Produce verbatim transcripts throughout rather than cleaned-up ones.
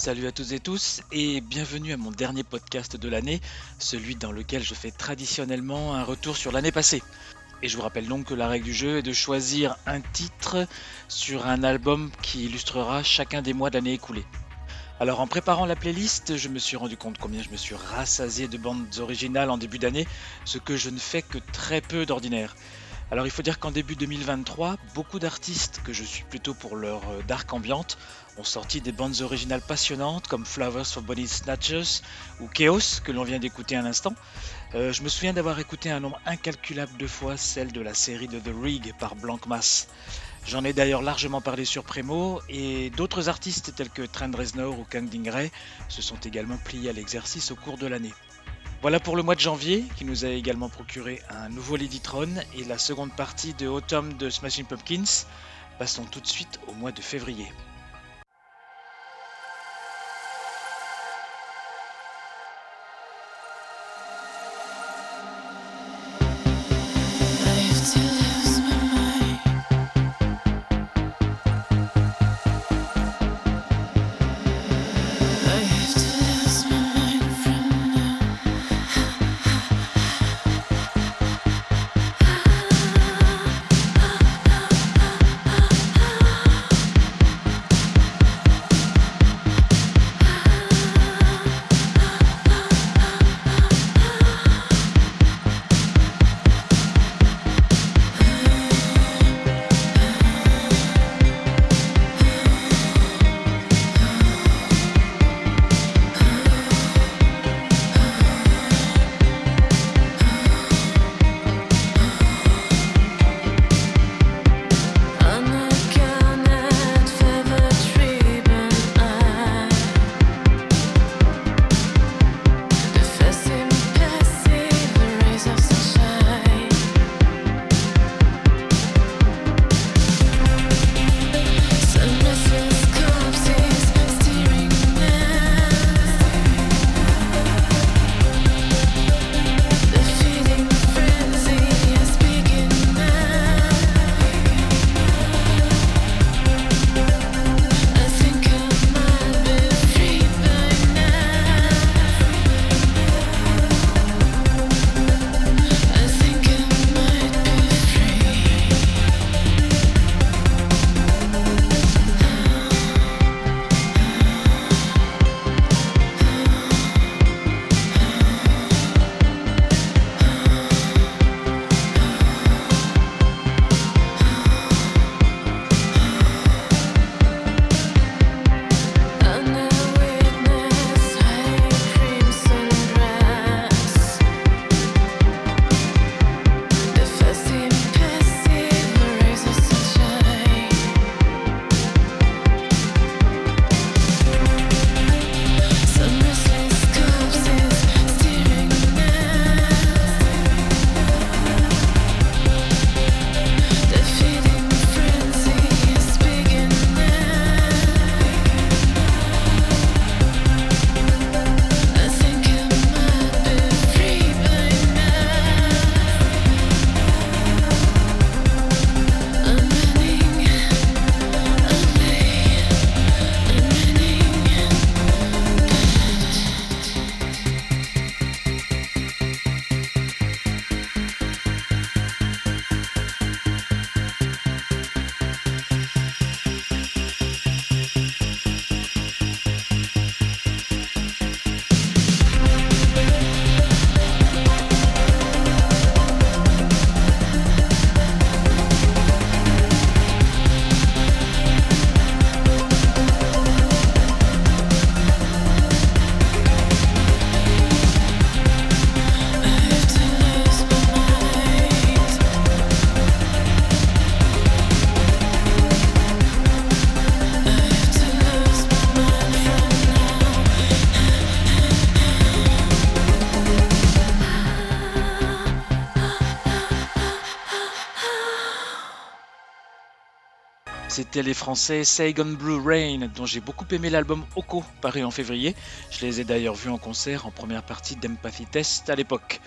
Salut à toutes et tous et bienvenue à mon dernier podcast de l'année, celui dans lequel je fais traditionnellement un retour sur l'année passée. Et je vous rappelle donc que la règle du jeu est de choisir un titre sur un album qui illustrera chacun des mois de l'année écoulée. Alors en préparant la playlist, je me suis rendu compte combien je me suis rassasié de bandes originales en début d'année, ce que je ne fais que très peu d'ordinaire. Alors il faut dire qu'en début deux mille vingt-trois, beaucoup d'artistes, que je suis plutôt pour leur euh, dark ambiante, ont sorti des bandes originales passionnantes comme Flowers for Body Snatchers ou Chaos que l'on vient d'écouter un instant. Euh, je me souviens d'avoir écouté un nombre incalculable de fois celle de la série de The Rig par Blanc Mass. J'en ai d'ailleurs largement parlé sur Premo et d'autres artistes tels que Trent Reznor ou Kang Dingray se sont également pliés à l'exercice au cours de l'année. Voilà pour le mois de janvier, qui nous a également procuré un nouveau Ladytron et la seconde partie de Autumn de Smashing Pumpkins. Passons tout de suite au mois de février. C'était les Français Saigon Blue Rain, dont j'ai beaucoup aimé l'album Oko, paru en février. Je les ai d'ailleurs vus en concert en première partie d'Empathy Test à l'époque.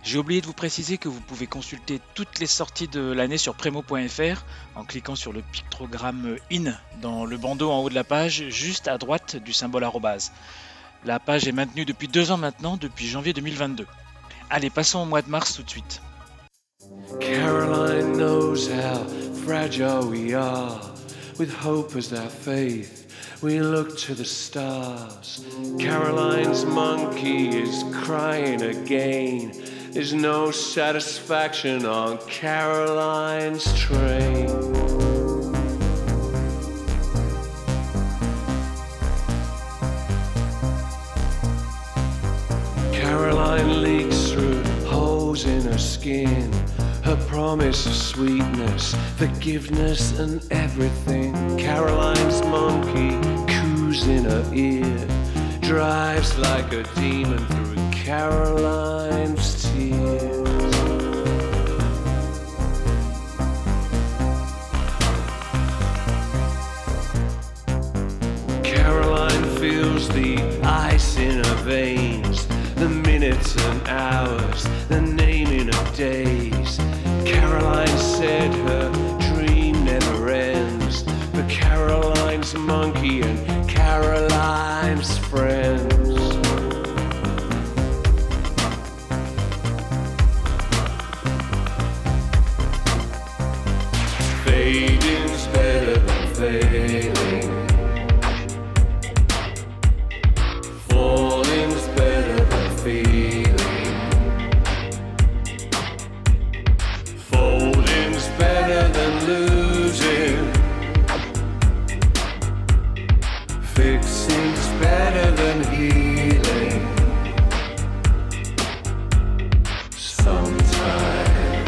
J'ai oublié de vous préciser que vous pouvez consulter toutes les sorties de l'année sur Premo point F R en cliquant sur le pictogramme in dans le bandeau en haut de la page, juste à droite du symbole arrobase. La page est maintenue depuis deux ans maintenant, depuis janvier deux mille vingt-deux. Allez, passons au mois de mars tout de suite. Caroline knows how fragile we are. With hope as our faith, we look to the stars. Caroline's monkey is crying again. There's no satisfaction on Caroline's train. Caroline leaks through holes in her skin. Her promise of sweetness, forgiveness and everything. Caroline's monkey coos in her ear, drives like a demon through Caroline's tears. Caroline feels the ice in her veins, the minutes and hours, the naming of days. Caroline said her dream never ends, but Caroline's monkey and Caroline's friends. Fading's better than failing. Falling's better than feeling. Folding's better than losing. Fixing's better than healing. Sometimes.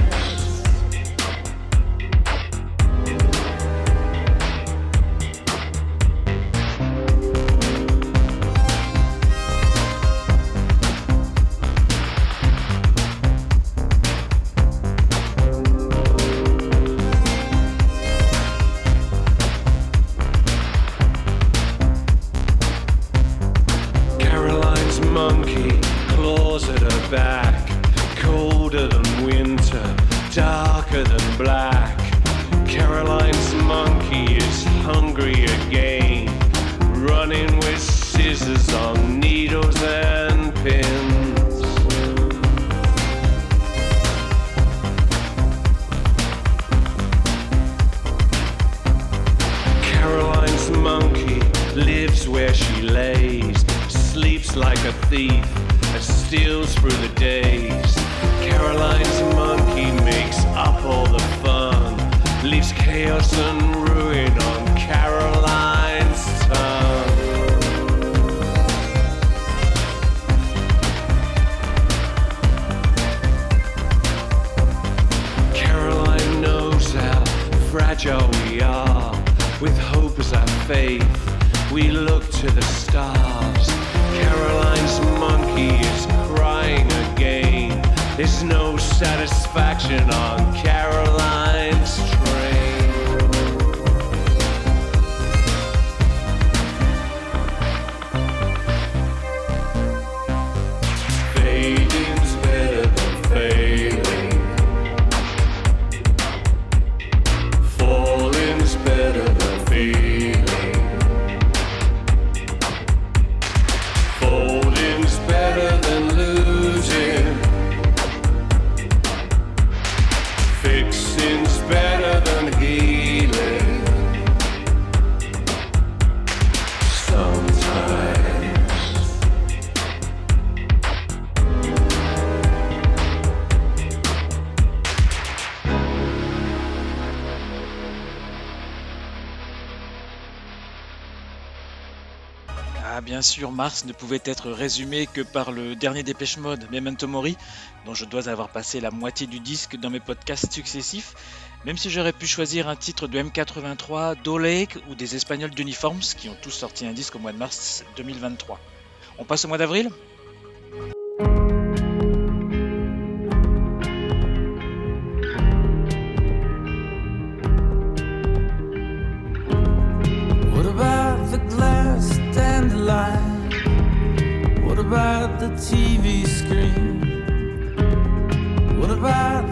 Monkey claws at her back, colder than winter, darker than black. Caroline's monkey is hungry again, running with scissors on needles and pins. Caroline's monkey lives where she lays, sleeps like a thief and steals through the days. Caroline's monkey makes up all the fun, leaves chaos and ruin on Caroline's tongue. Caroline knows how fragile we are. With hope as our faith, we look to the stars. Caroline's monkey is crying again. There's no satisfaction on Caroline's train. Fading's better than failing. Falling's better than feeling. Folding's better than losing. Fixing's better than healing. Sometimes. Ah, bien sûr, mars ne pouvait être résumé que par le dernier Dépêche Mode, Memento Mori, dont je dois avoir passé la moitié du disque dans mes podcasts successifs, même si j'aurais pu choisir un titre de M quatre-vingt-trois, d'Olake ou des Espagnols d'Uniforms, qui ont tous sorti un disque au mois de mars deux mille vingt-trois. On passe au mois d'avril ? What about the glass dandelion? What about the T V screen?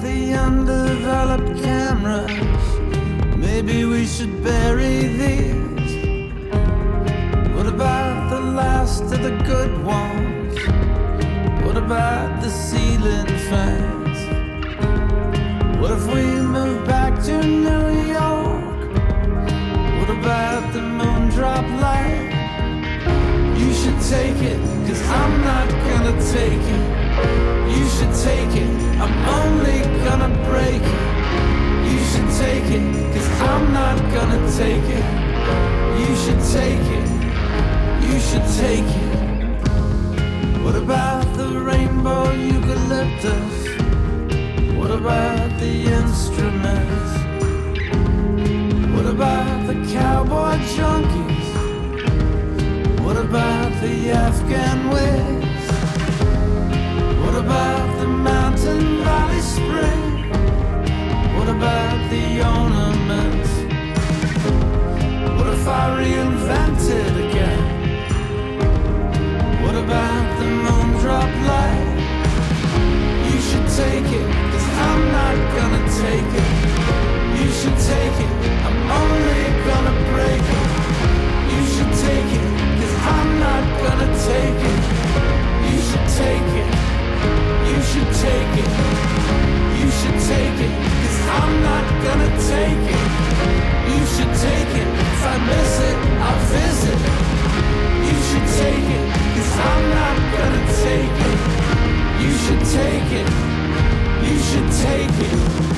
the undeveloped cameras? Maybe we should bury these. What about the last of the good ones? What about the ceiling fans? What if we move back to New York? What about the moon drop light? You should take it, cause I'm not gonna take it. You should take it, I'm only gonna break it. You should take it, cause I'm not gonna take it. You should take it, you should take it. What about the rainbow eucalyptus? What about the instruments? What about the cowboy junkies? What about the Afghan wigs? What about the mountain valley spring? What about the ornaments? What if I reinvented again? What about the moon drop light? You should take it, cause I'm not gonna take it. You should take it, I'm only gonna break it. You should take it, cause I'm not gonna take it. You should take it, you should take it. You should take it, cause I'm not gonna take it. You should take it, if I miss it, I'll visit. You should take it, cause I'm not gonna take it. You should take it, you should take it.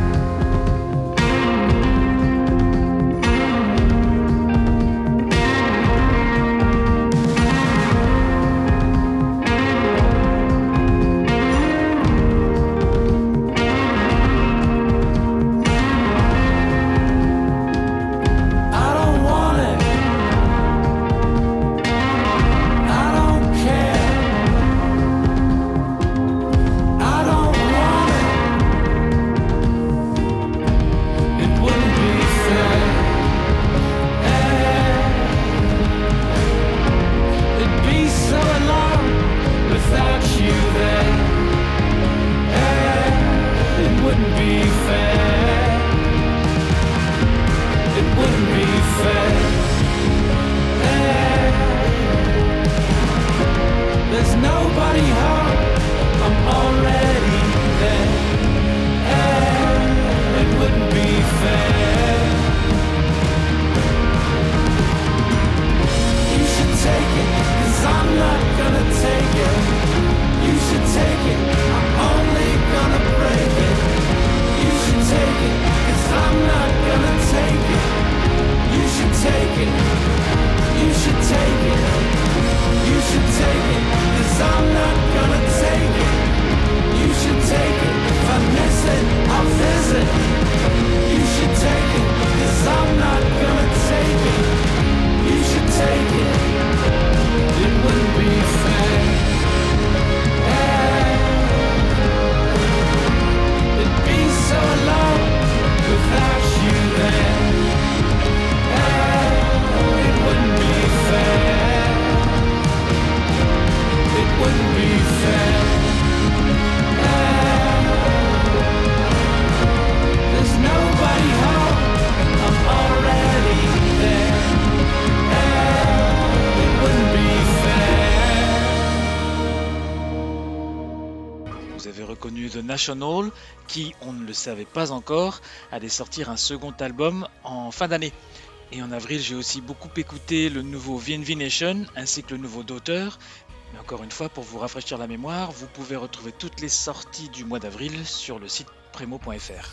The National, qui, on ne le savait pas encore, allait sortir un second album en fin d'année. Et en avril, j'ai aussi beaucoup écouté le nouveau V N V Nation, ainsi que le nouveau Daughter. Mais encore une fois, pour vous rafraîchir la mémoire, vous pouvez retrouver toutes les sorties du mois d'avril sur le site premo point f r.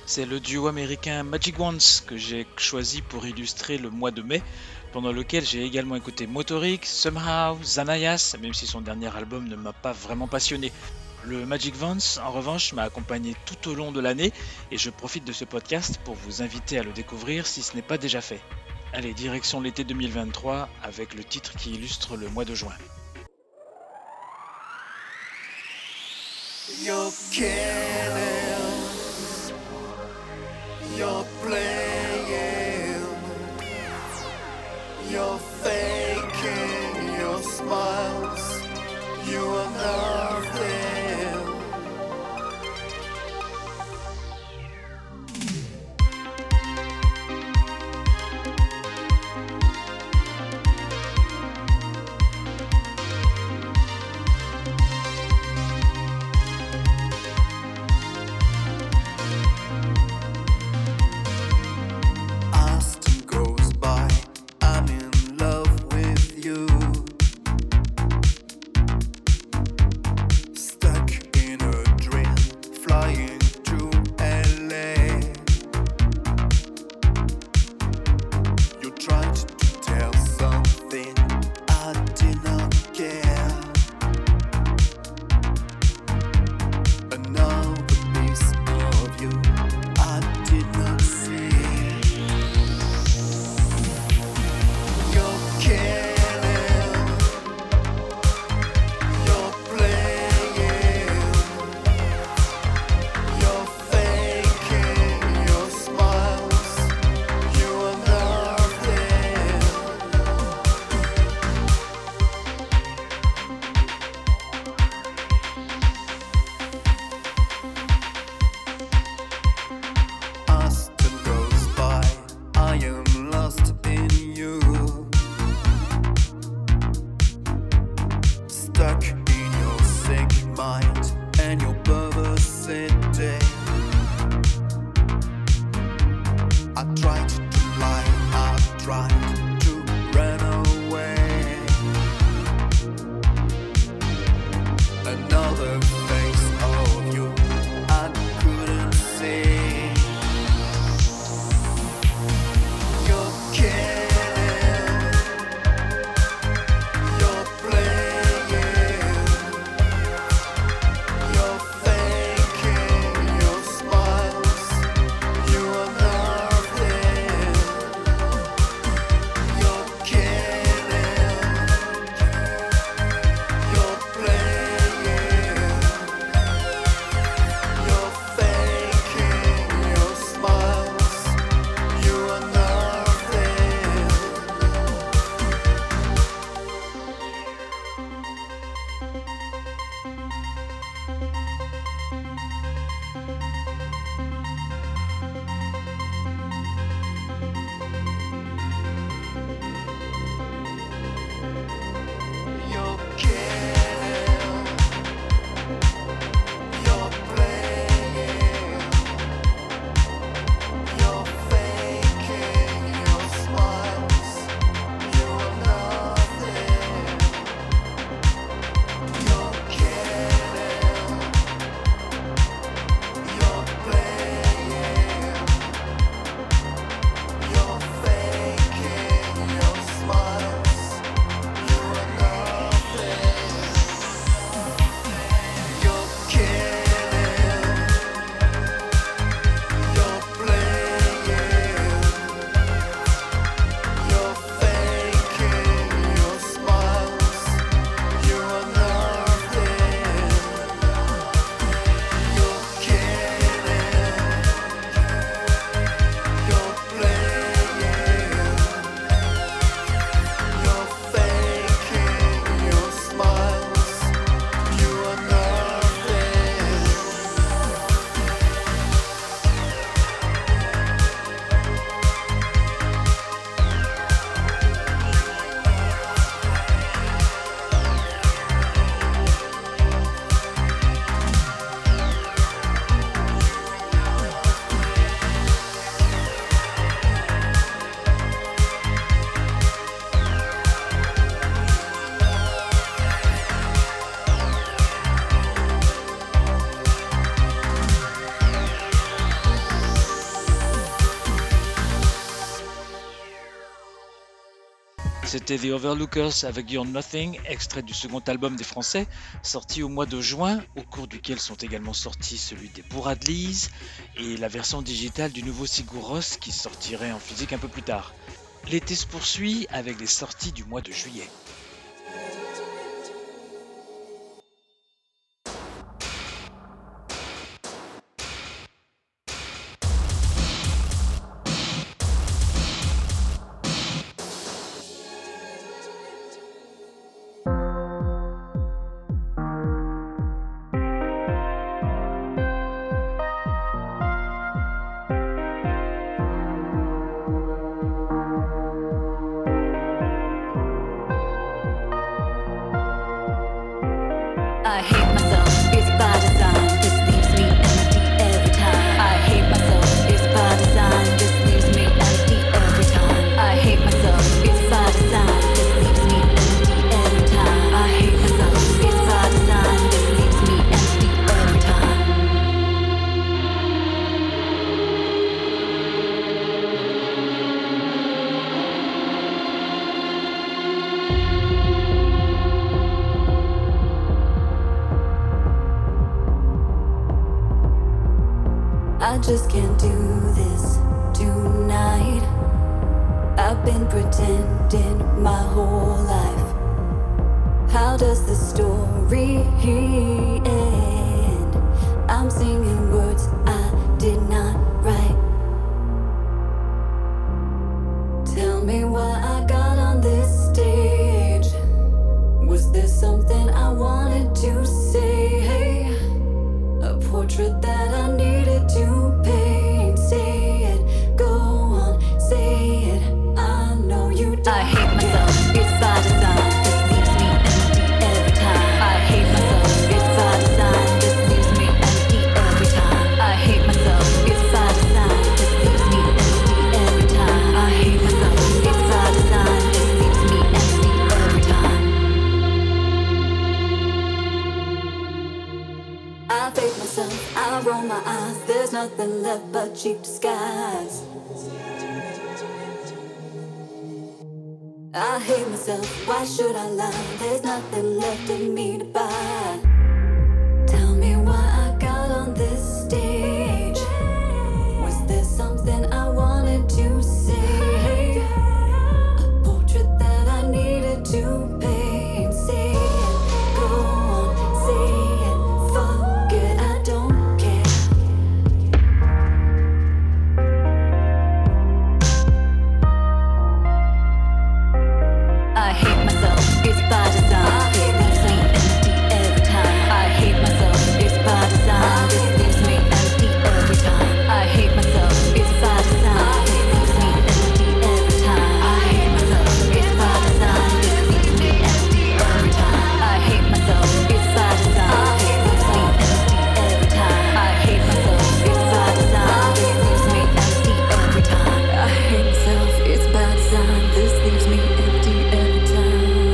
c'est le duo américain Magic Wands que j'ai choisi pour illustrer le mois de mai, pendant lequel j'ai également écouté Motorik, Somehow, Zanayas, même si son dernier album ne m'a pas vraiment passionné. Le Magic Wands, en revanche, m'a accompagné tout au long de l'année et je profite de ce podcast pour vous inviter à le découvrir si ce n'est pas déjà fait. Allez, direction l'été deux mille vingt-trois avec le titre qui illustre le mois de juin. You're kidding, you're playing, you're faking your smiles, you are nothing. Austin goes by, I'm in love with you. c'était The Overlookers avec You're Nothing, extrait du second album des Français, sorti au mois de juin, au cours duquel sont également sortis celui des Bouradleys et la version digitale du nouveau Sigur Rós qui sortirait en physique un peu plus tard. L'été se poursuit avec les sorties du mois de juillet. I hate myself, it's by design, this leaves me empty every time. I hate myself, it's by design, this leaves me empty every time. I hate myself, it's by design, this leaves me empty every time. I hate myself, it's by design, this leaves me empty every time. I just can't do this tonight. I've been pretending my whole life. How does the story end? I'm singing words I did not write. Tell me why I got on this stage. Was there something I wanted to say? A portrait that I needed to paint. Say it, go on, say it. I know you don't. I hate myself, it's by design. This leaves me empty every time. I hate myself, it's by design. This leaves me empty every time. I hate myself, it's by design. This leaves me empty every time. I hate myself, it's by design. This leaves me empty every time. I fake myself, I roll my eyes. There's nothing left but cheap disguise. I hate myself, why should I lie? There's nothing left of me to buy. Tell me why I got on this stage. Was there something I wanted to say? A portrait that I needed to paint. Say it, go on, say it. Fuck it, I don't care. I hate myself, it's by design. This leaves me empty every time. I hate myself, it's by design. This leaves me empty every time. I hate myself, it's by design. This leaves me empty every time. I hate myself, it's by design. This leaves me empty every time. I hate myself, it's by design. This leaves me empty every time. I hate myself, it's by design. This leaves me empty every time. I hate myself, it's by design. This leaves me empty every time.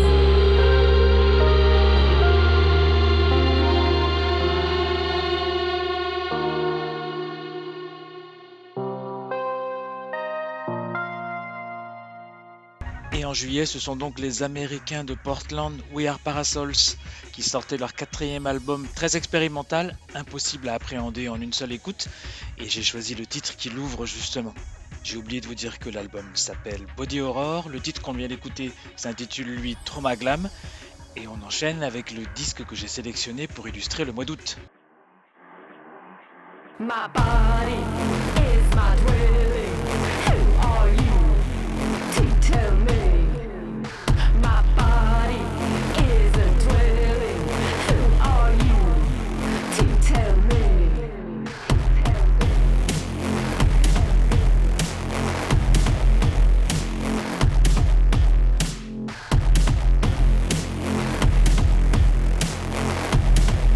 Et en juillet, ce sont donc les Américains de Portland, We Are Parasols, qui sortaient leur quatrième album très expérimental, impossible à appréhender en une seule écoute, et j'ai choisi le titre qui l'ouvre justement. J'ai oublié de vous dire que l'album s'appelle Body Horror, le titre qu'on vient d'écouter s'intitule lui Trauma Glam, et on enchaîne avec le disque que j'ai sélectionné pour illustrer le mois d'août. My body is my dwelling. Who are you to tell me? My body is a dwelling. Who are you to tell me?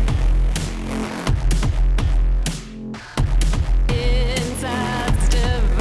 Inside's divided.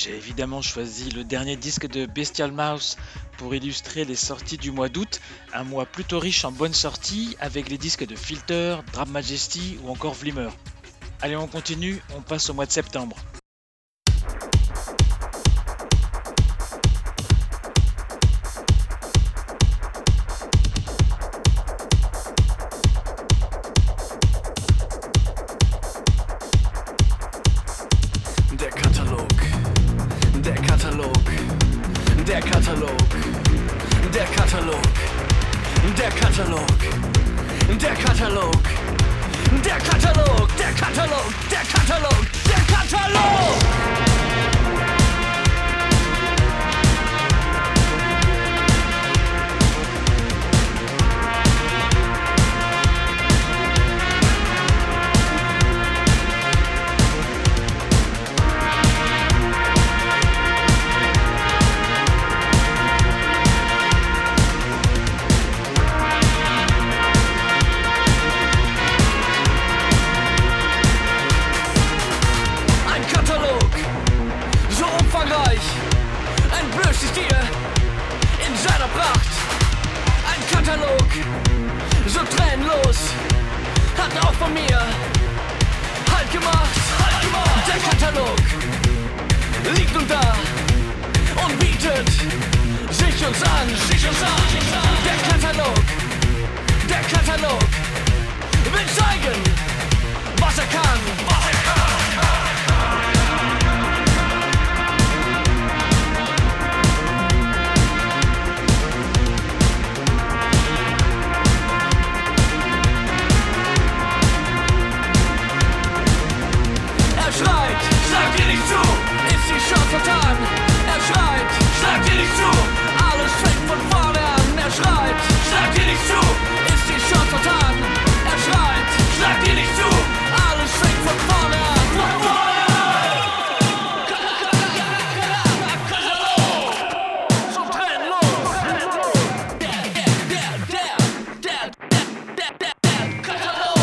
J'ai évidemment choisi le dernier disque de Bestial Mouse pour illustrer les sorties du mois d'août, un mois plutôt riche en bonnes sorties avec les disques de Filter, Drum Majesty ou encore Vlimmer. Allez, on continue, on passe au mois de septembre. Der Katalog, der Katalog, der Katalog, der Katalog, der Katalog, der Katalog, der Katalog, der Katalog, der Katalog, der Katalog. So tränenlos, hat auch von mir Halt gemacht, halt gemacht. Der Katalog liegt nun da und bietet sich uns an, sich uns an. Der Katalog, der Katalog will zeigen, was er kann, was er kann. Schreit, sag dir nicht zu, ist die Chance vertan. Er schreit, sag dir nicht zu, alles fängt von vorne an. Er schreit, sag dir nicht zu, ist die Chance vertan. Er schreit, sag dir nicht zu, alles fängt von vorne an. Von vorne an! So trennlos! Der, der, der, der, der, der, der, der Katalog!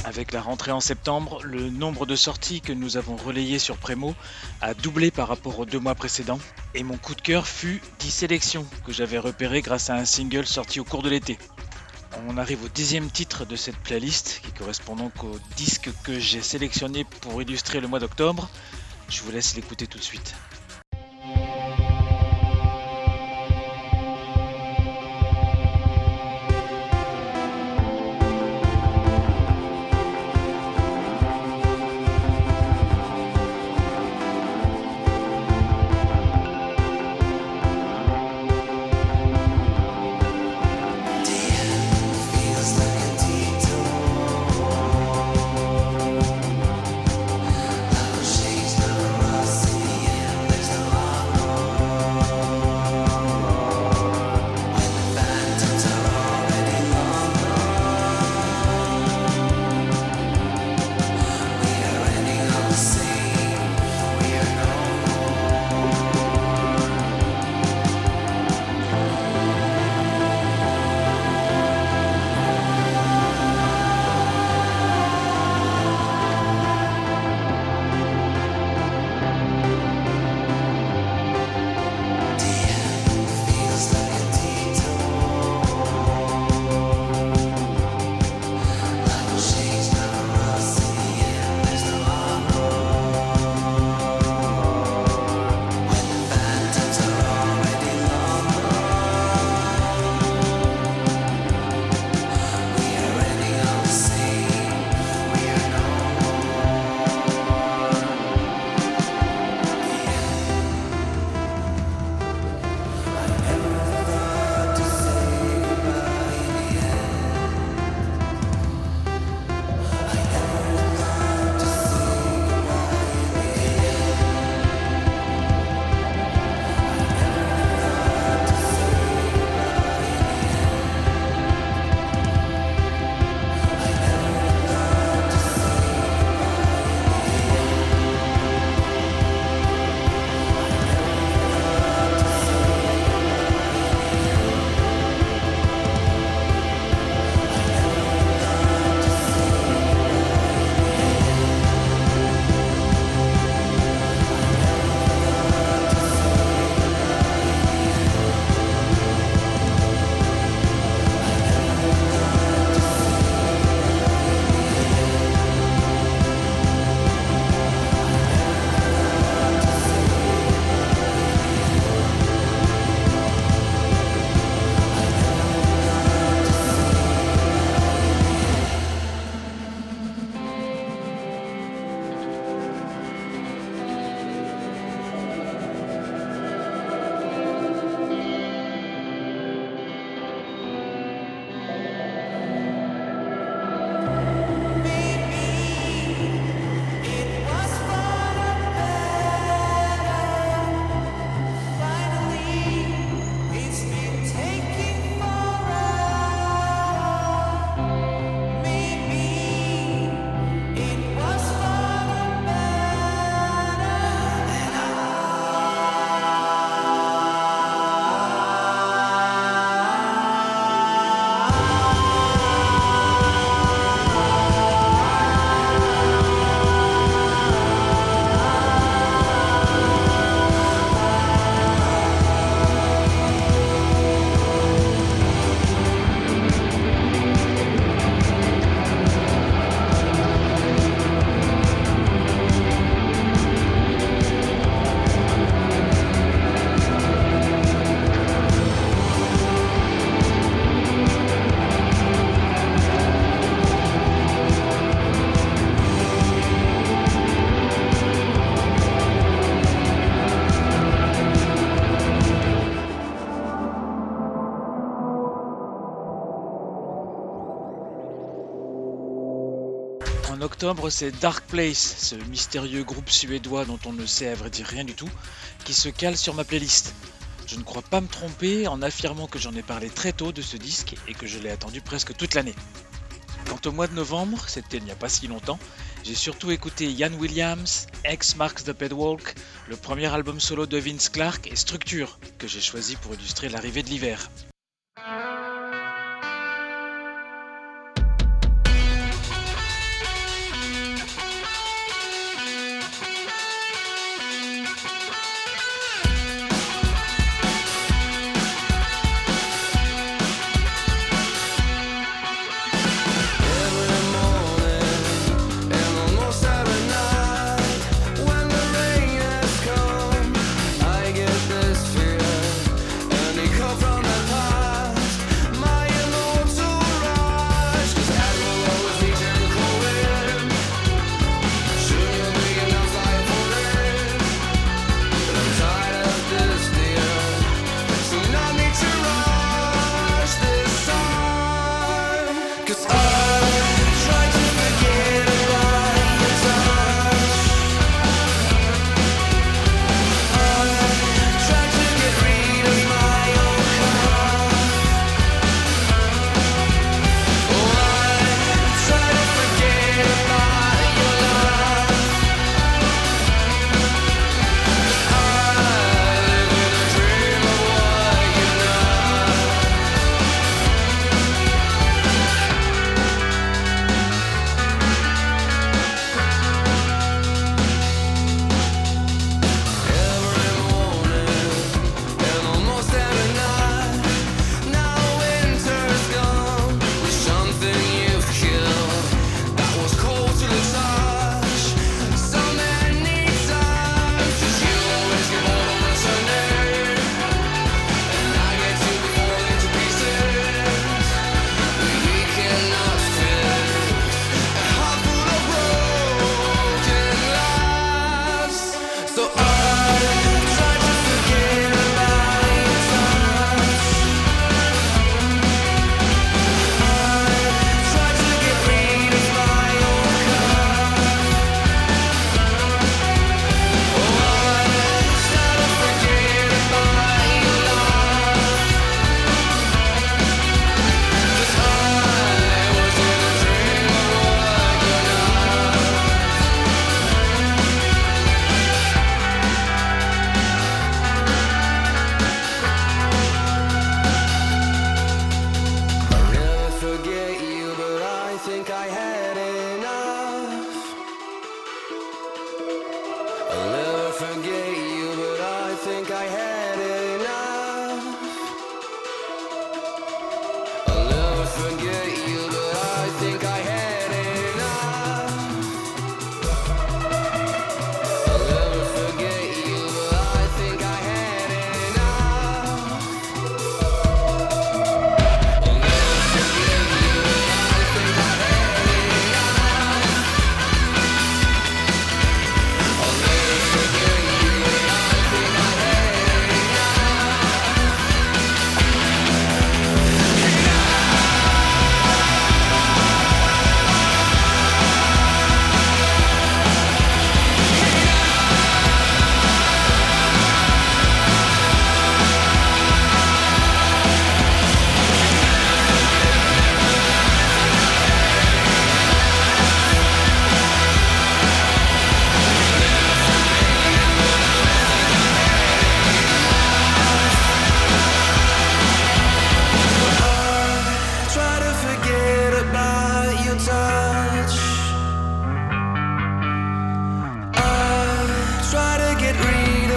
Avec la rentrée en septembre, le nombre de sorties que nous avons relayées sur Prémo a doublé par rapport aux deux mois précédents, et mon coup de cœur fut dix sélections que j'avais repérées grâce à un single sorti au cours de l'été. On arrive au dixième titre de cette playlist, qui correspond donc au disque que j'ai sélectionné pour illustrer le mois d'octobre. Je vous laisse l'écouter tout de suite. En octobre, c'est Dark Place, ce mystérieux groupe suédois dont on ne sait à vrai dire rien du tout, qui se cale sur ma playlist. Je ne crois pas me tromper en affirmant que j'en ai parlé très tôt de ce disque et que je l'ai attendu presque toute l'année. Quant au mois de novembre, c'était il n'y a pas si longtemps, j'ai surtout écouté Ian Williams, X Marks the Pedwalk, le premier album solo de Vince Clarke et Structure, que j'ai choisi pour illustrer l'arrivée de l'hiver.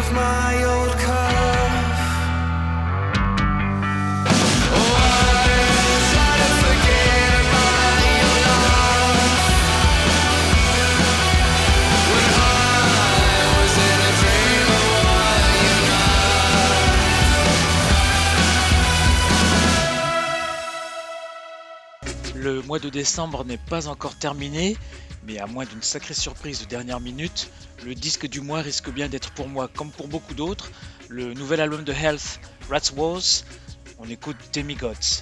with my old cuff. Oh, I try to forget about your love when I was in a dream of what you know. Le mois de décembre n'est pas encore terminé, mais à moins d'une sacrée surprise de dernière minute, le disque du mois risque bien d'être pour moi, comme pour beaucoup d'autres, le nouvel album de Health, Rats Wars. On écoute Demigods.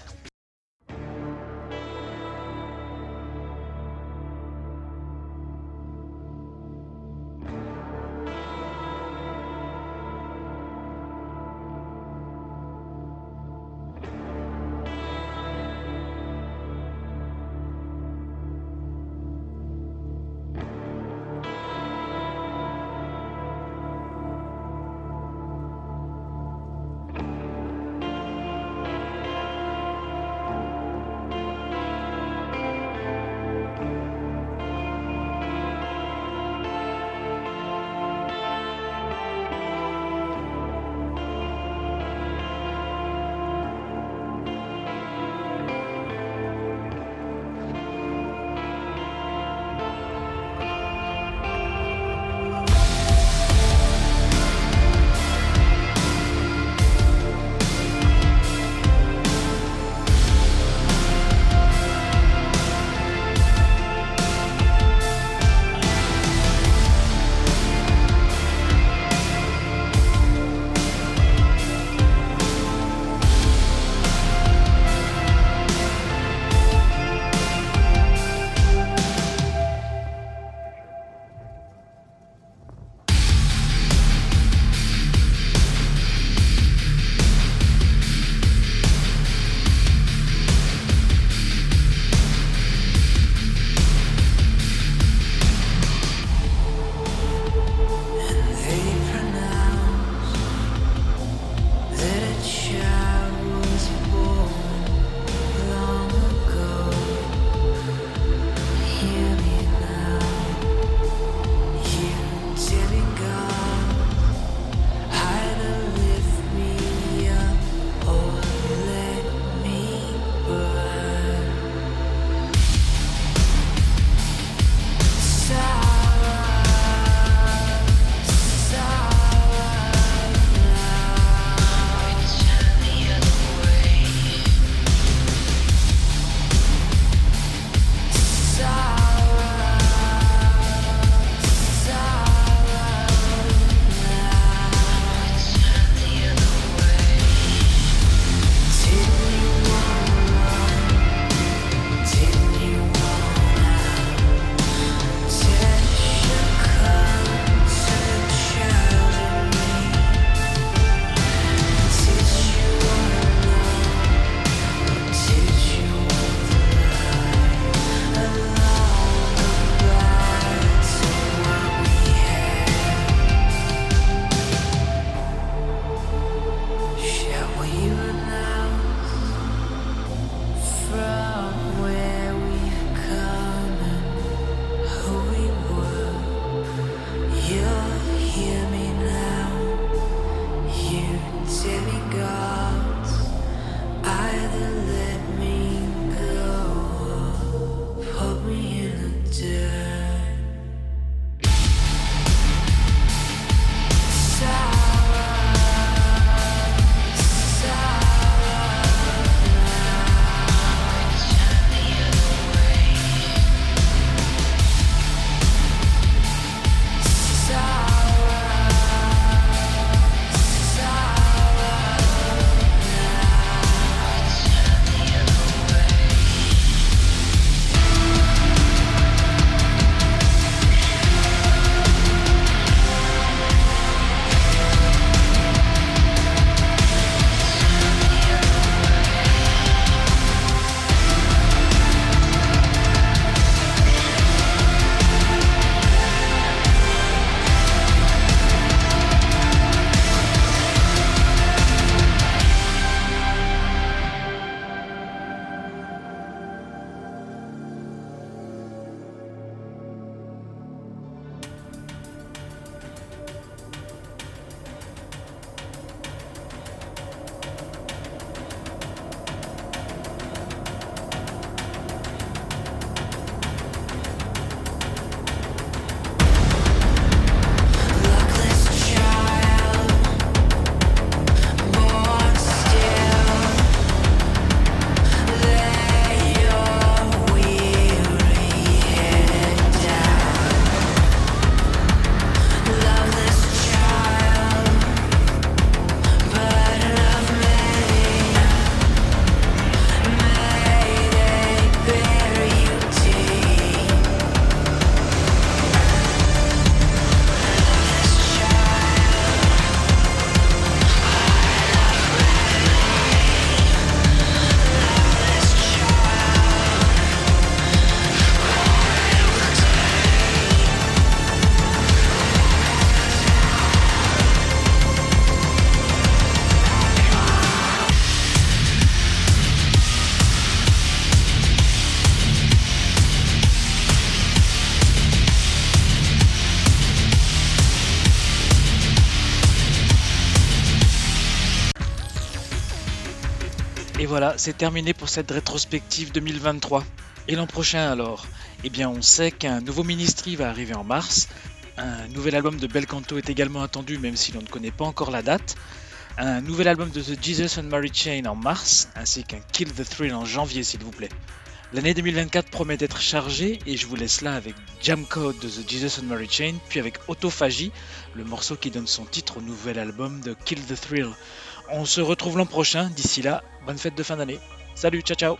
Et voilà, c'est terminé pour cette rétrospective deux mille vingt-trois. Et l'an prochain alors? Eh bien on sait qu'un nouveau Ministry va arriver en mars, un nouvel album de Belcanto est également attendu même si l'on ne connaît pas encore la date, un nouvel album de The Jesus and Mary Chain en mars, ainsi qu'un Kill the Thrill en janvier s'il vous plaît. L'année deux mille vingt-quatre promet d'être chargée et je vous laisse là avec Jam Code de The Jesus and Mary Chain, puis avec Autophagie, le morceau qui donne son titre au nouvel album de Kill the Thrill. On se retrouve l'an prochain, d'ici là, bonne fête de fin d'année. Salut, ciao ciao.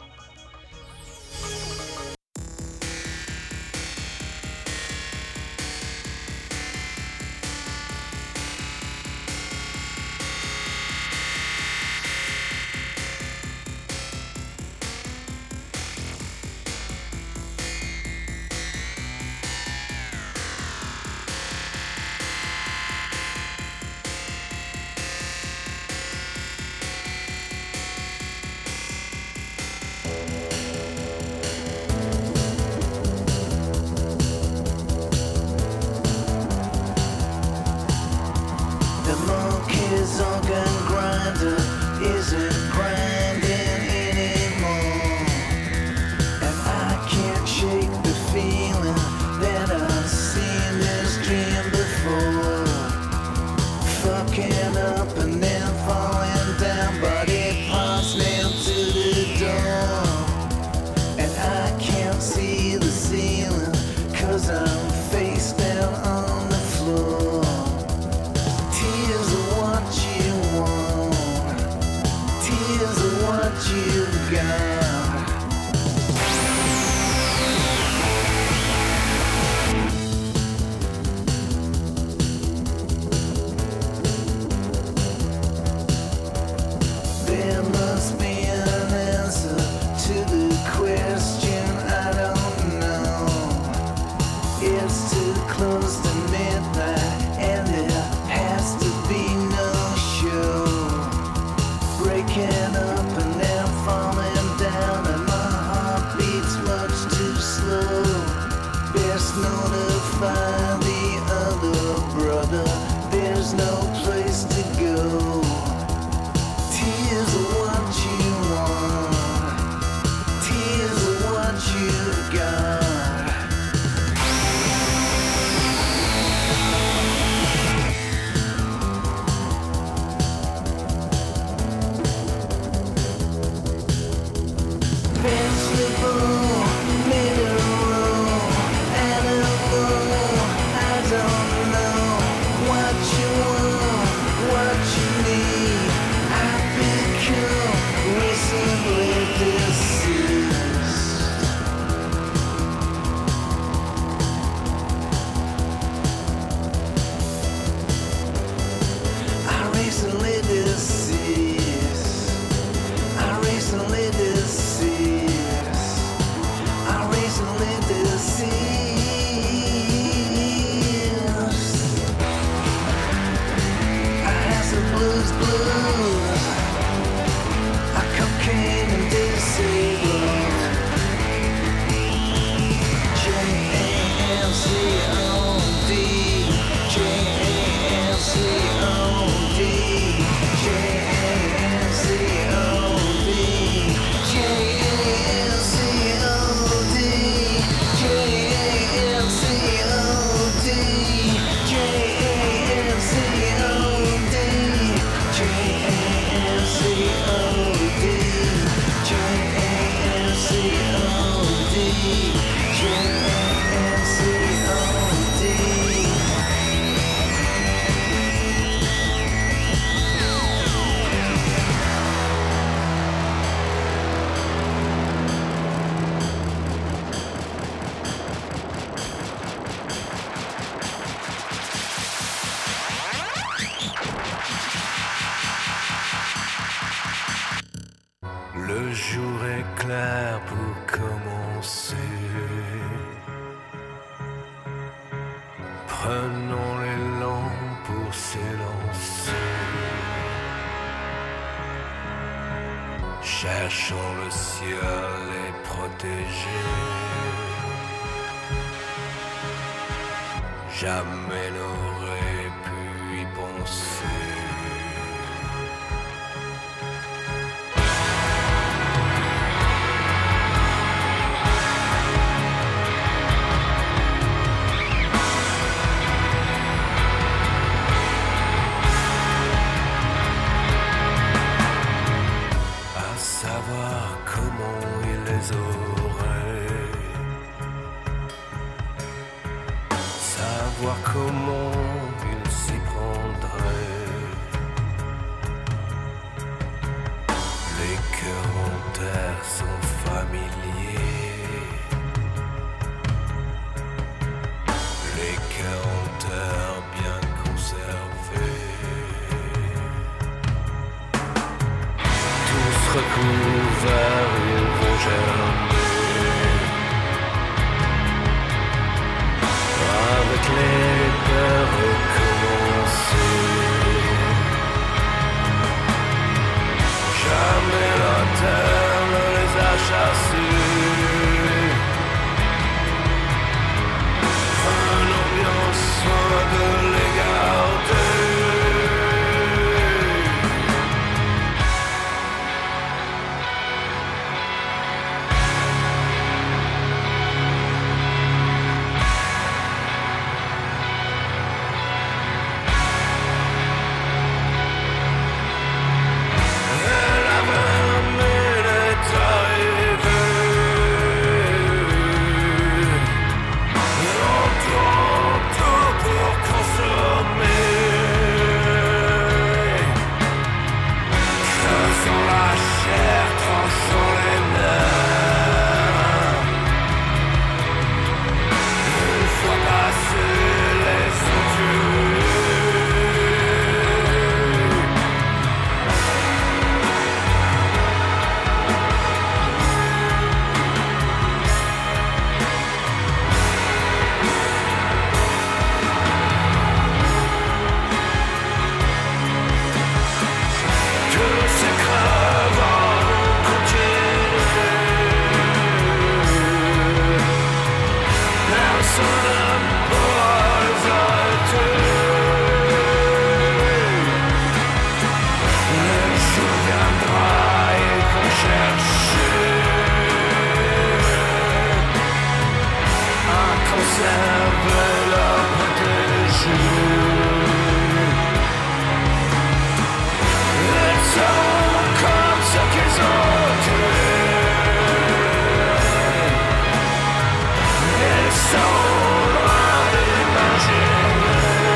Le jour est clair pour commencer. Prenons l'élan pour s'élancer. Cherchons le ciel et protégés. Jamais n'aurait pu y penser. savoir comment il s'y prendrait. Les cœurs en terre sont familiers. Les cœurs en terre bien conservés. Tous recouverts, ils vont germer. Avec les peurs recommencer. Jamais la terre ne les a chassés. Prenons bien soin de les garder.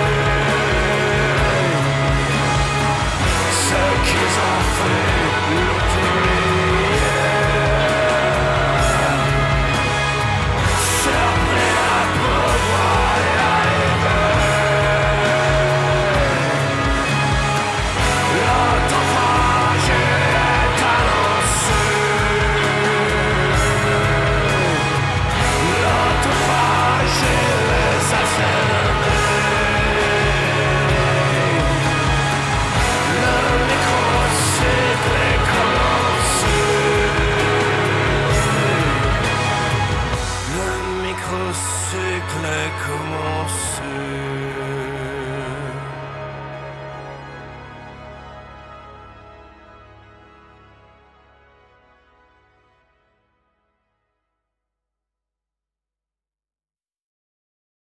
Ce qu'ils ont fait.